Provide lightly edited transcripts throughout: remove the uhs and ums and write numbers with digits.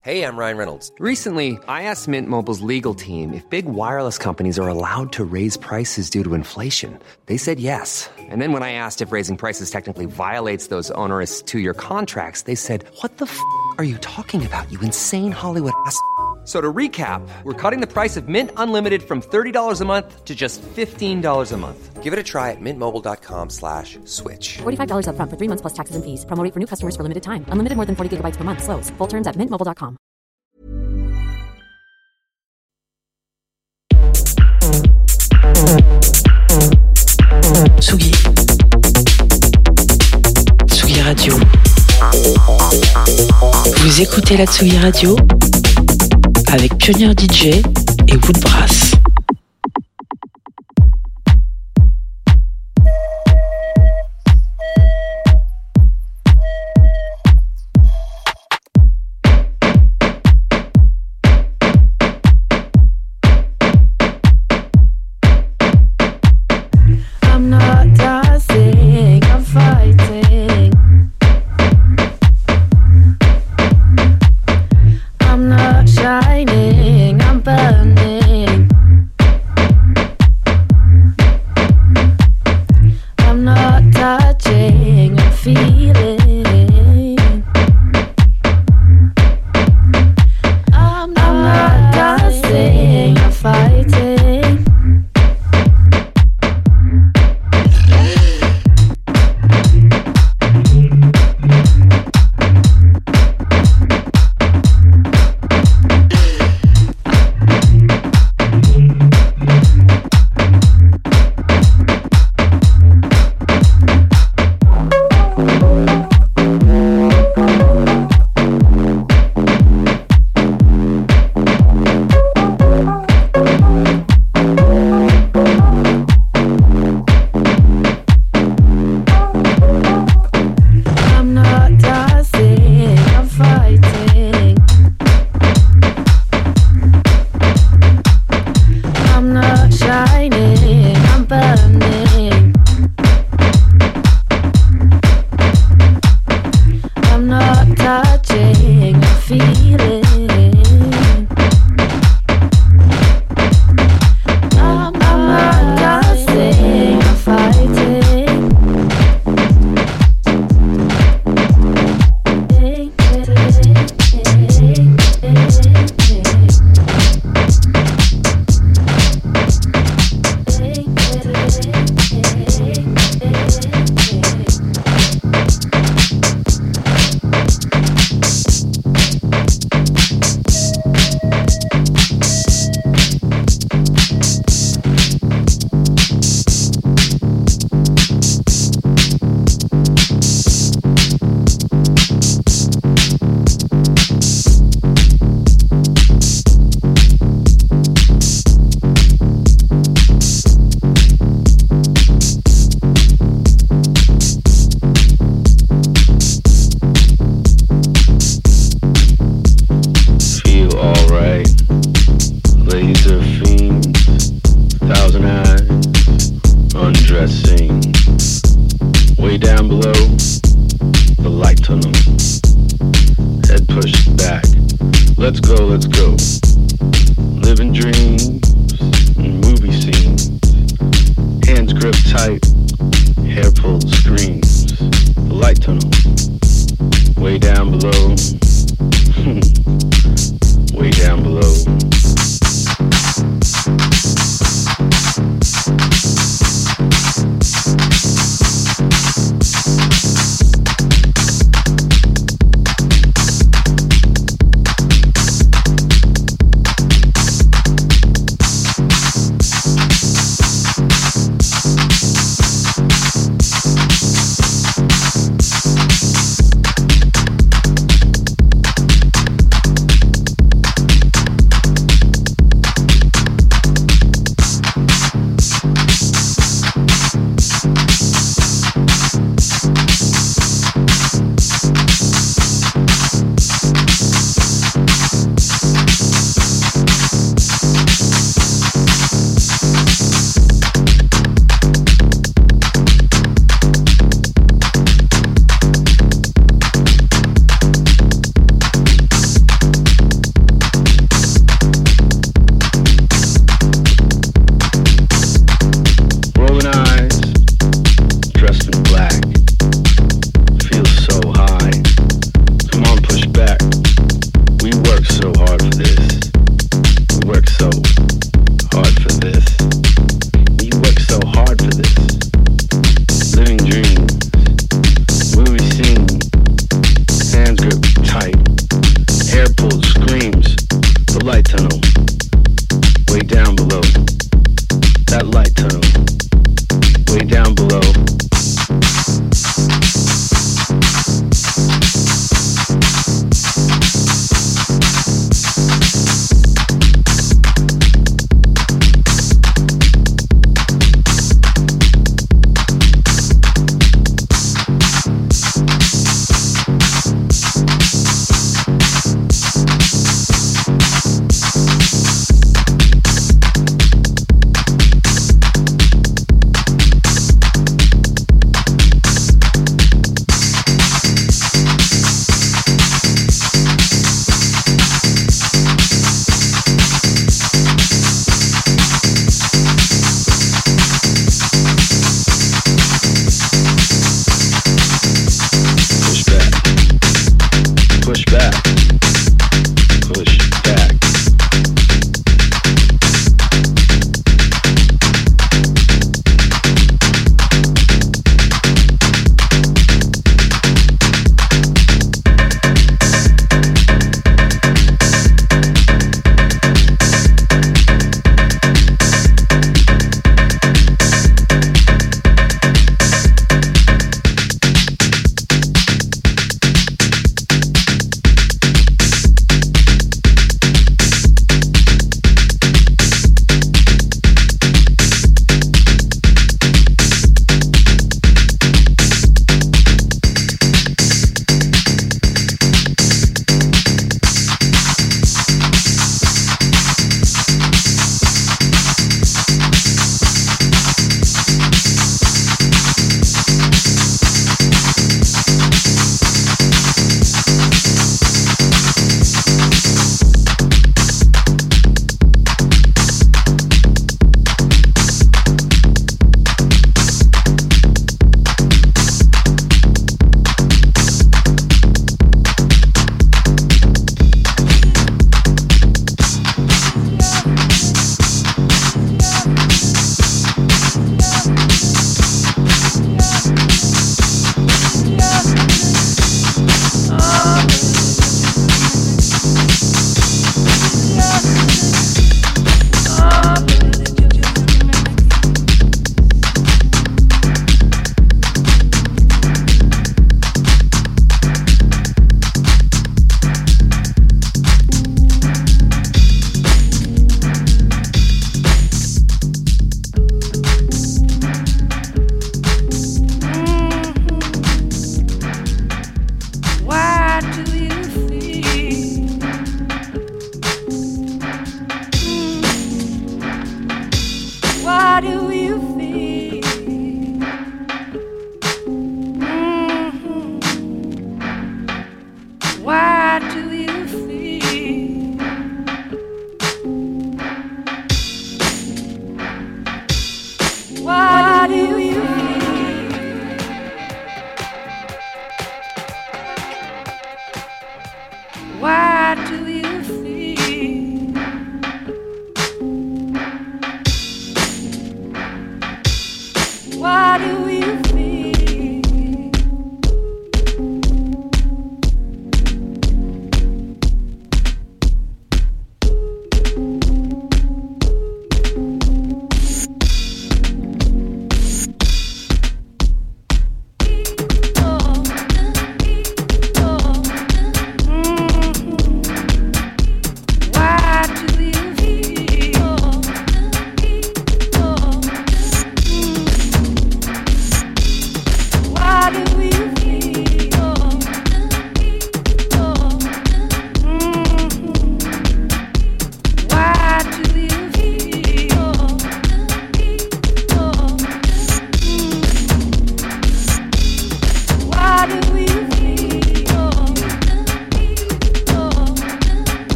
Hey, I'm Ryan Reynolds. Recently, I asked Mint Mobile's legal team if big wireless companies are allowed to raise prices due to inflation. They said yes. And then when I asked if raising prices technically violates those onerous two-year contracts, they said, "What the f*** are you talking about, you insane Hollywood ass?" So to recap, we're cutting the price of Mint Unlimited from $30 a month to just $15 a month. Give it a try at mintmobile.com/switch. $45 up front for 3 months plus taxes and fees. Promo rate for new customers for limited time. Unlimited more than 40 gigabytes per month. Slows full terms at mintmobile.com. Tsugi. Tsugi Radio. Vous écoutez la Tsugi Radio avec Pionnier DJ et Woodbrass. light tunnel, way down below. That light tunnel, way down below.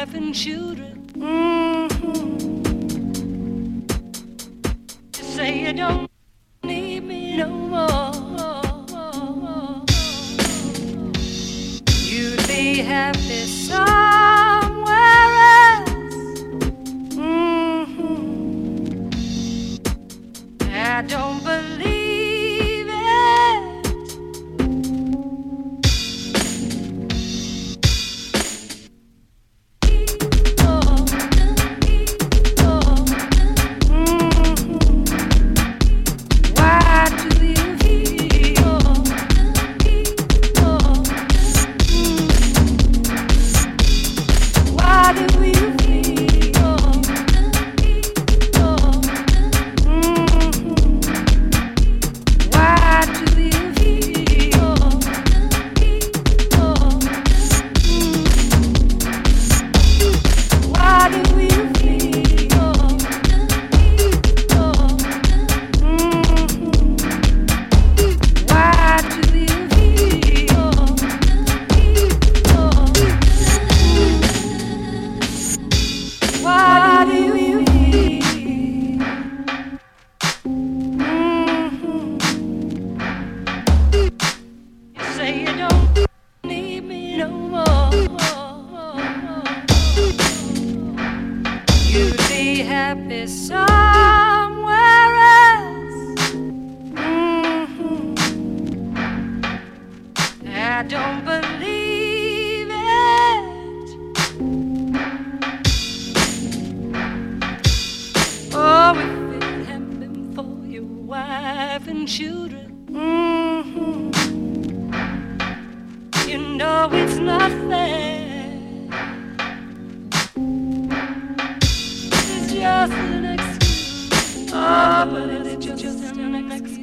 wife and children. You say you don't need me no more. You'd be happy somewhere else. I don't believe it. Why do you feel? Why do we feel? Why do you feel? Why do we feel? Why do you feel? Why do you feel? You say you don't need me no more. You'd be happy somewhere else. I don't believe it. Oh, if it hadn't been for your wife and children, you know it's nothing. It's just an excuse. Oh, but it's just an excuse.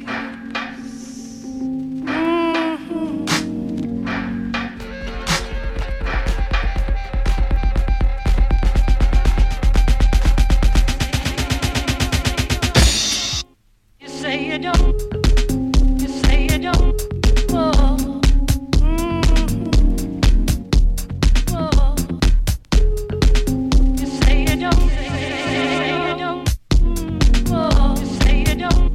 You say you don't. You say you don't. Oh. You say you don't. You say you don't. You say you don't.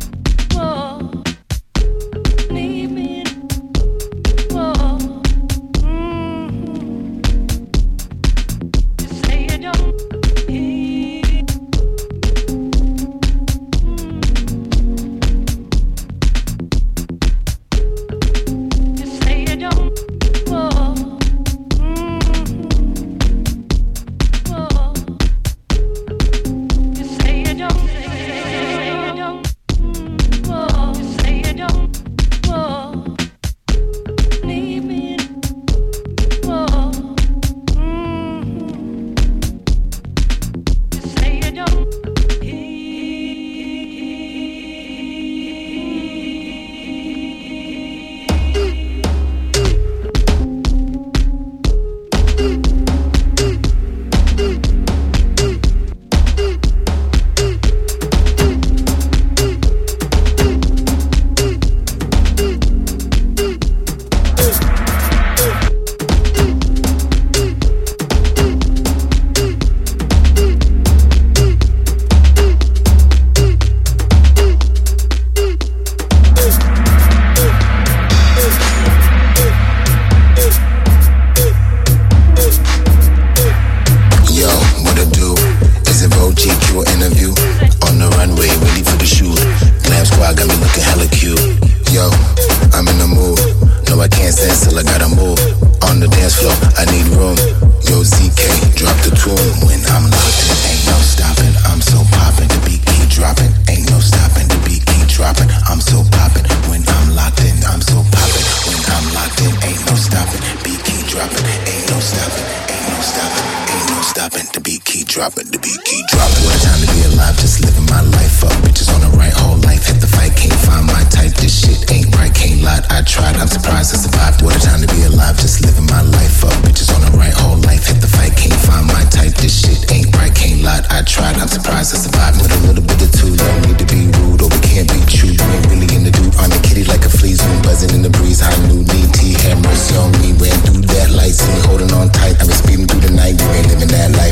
Need me. You say you don't. You say you don't. You say you don't. You say you don't. Need me. You say you don't. Yo, what I do is a Vogue GQ interview on the runway, ready for the shoot. Glam squad got me looking hella cute. Yo, I'm in the mood. No, I can't stand still, I gotta move. On the dance floor, I need room. Yo, ZK, drop the tune. When I'm locked in, ain't no stopping. I'm so poppin', the beat keep dropping. Ain't no stopping, the beat keep dropping. I'm so poppin'. When I'm locked in, I'm so poppin'. When I'm locked in, ain't no stopping. Beat keep dropping. Ain't no stopping. Ain't no stopping. Ain't no stopping. The beat keep dropping. The beat keep dropping. What a time to be alive, just living my life up. Bitches on the right, whole life. Hit the fight, can't find my type. This shit ain't right, can't lie. I tried, I'm surprised I survived. What a time to be alive, just living my life up. Bitches on the right, whole life. Hit the fight, can't find my type. This shit ain't right, can't lie. I tried, I'm surprised I survived. With a little bit of two, don't need to be rude, or we can't be true. You ain't really in the dude. On the kitty like a flea, zoom buzzing in the breeze. High new DT, had mercy on me. Ran through that light, see me holding on tight. I was speeding through the night, you ain't living that life.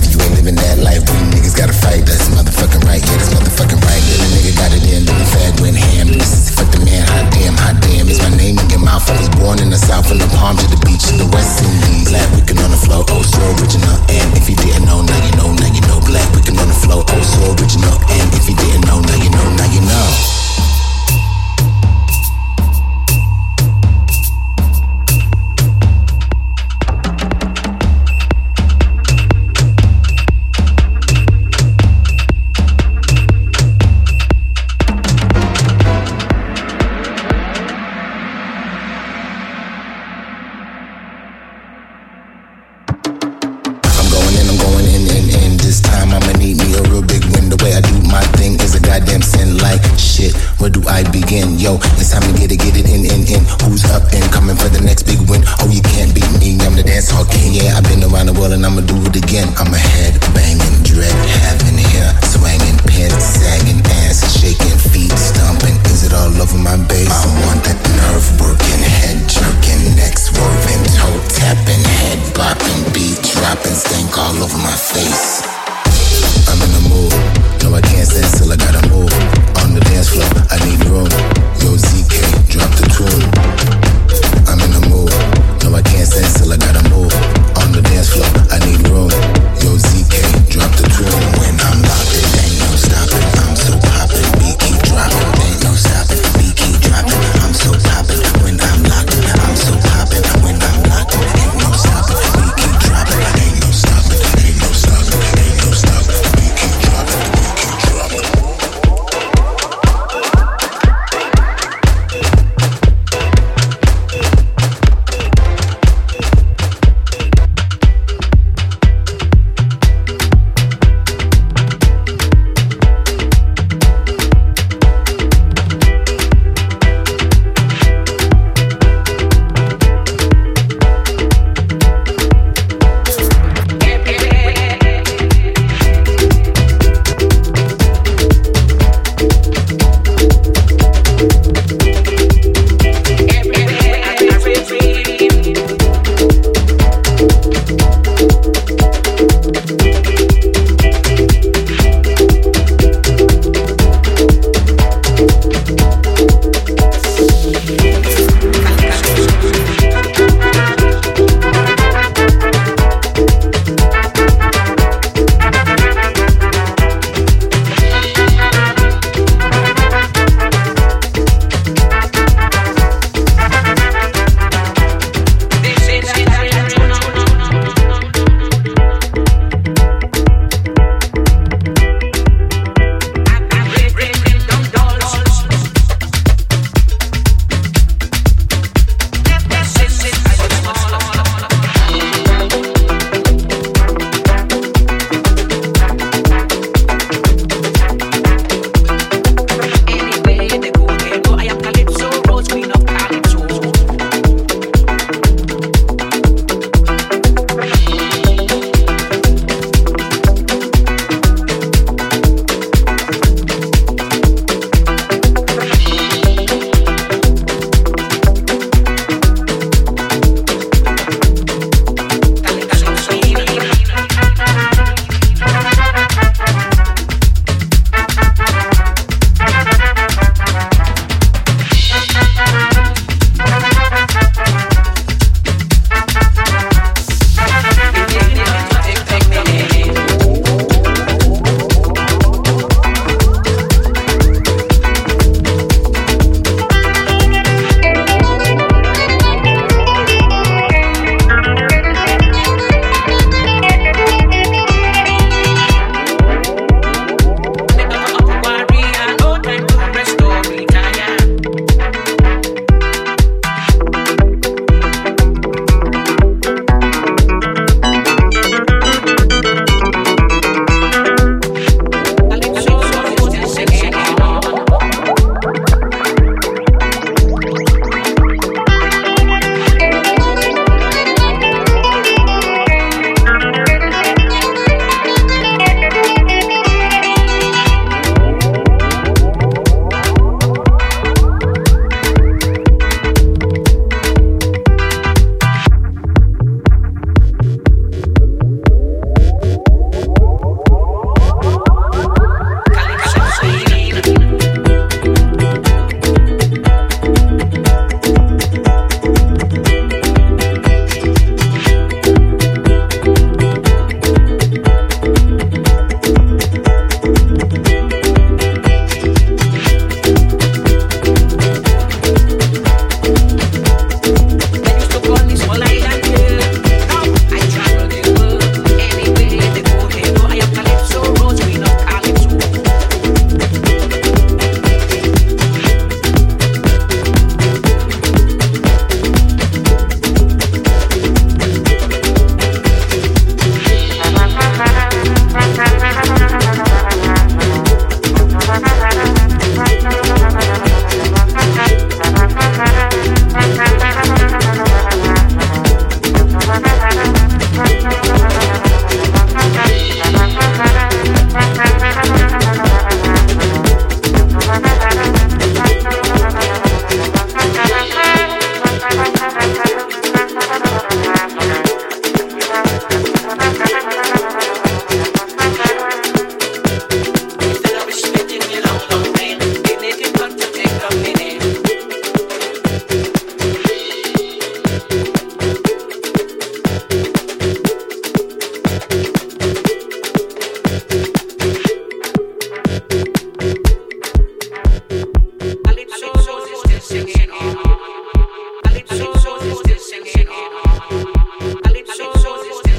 shit. Where do I begin? Yo, it's time to get it in. Who's up and coming for the next big win? Oh, you can't beat me, I'm the dance hall king. Yeah, I've been around the world and I'ma do it again. I'm a head banging, dread having hair, swanging, pants sagging, ass shaking, feet stomping. Is it all over my base? I want that nerve working, head jerking, neck swerving, toe tapping, head bopping, beat dropping, stink all over my face. I'm in the mood. No, I can't stand still, I gotta move. On the dance floor, I need room. Yo, ZK, drop the tune. I'm in the mood. No, I can't stand still, I gotta move. On the dance floor, I need room. Yo, ZK, drop the tune. When I'm locked in, ain't no stopping. I'm so poppin', beat keep dropping. Ain't no stopping, beat keep dropping. I'm so poppin'. When I'm locked in, I'm so poppin'. When I'm locked in, ain't no stopping, beat keep dropping. Ain't no stopping, ain't no stopping, ain't no stopping. Beat keep dropping, beat keep dropping.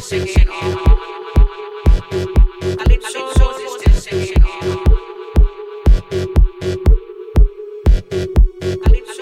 singing on. Calypso is still singing on. Calypso.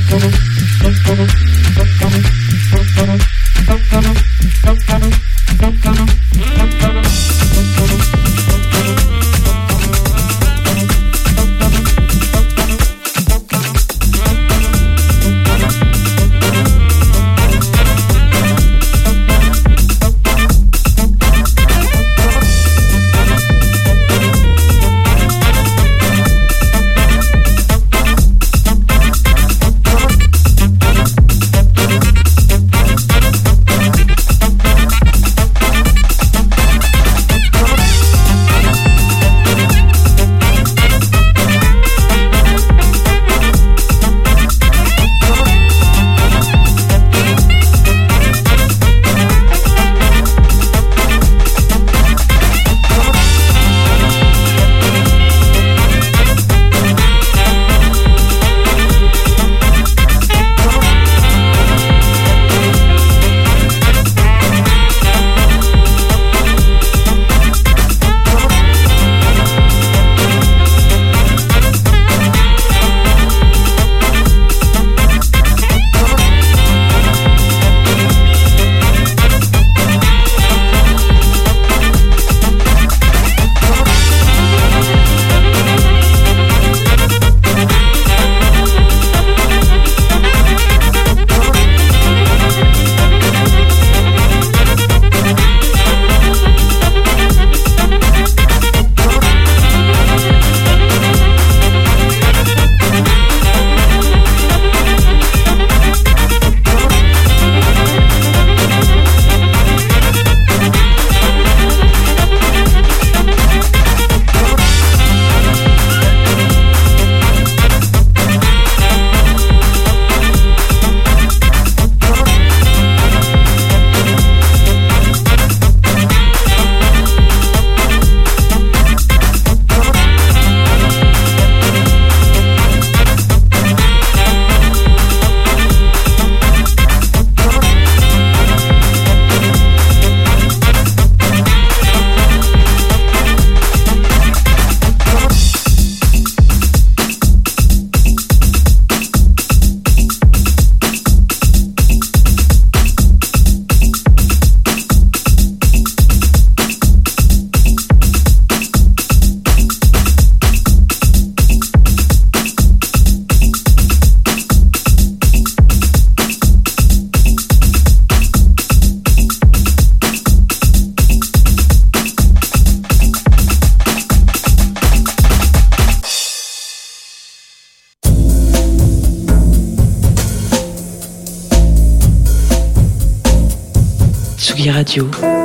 Tsugi Radio.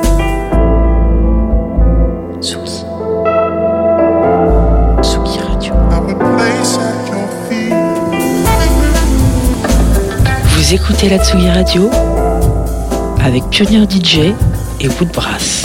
Tsugi. Tsugi Radio. Vous écoutez la Tsugi Radio avec Pionnier DJ et Woodbrass.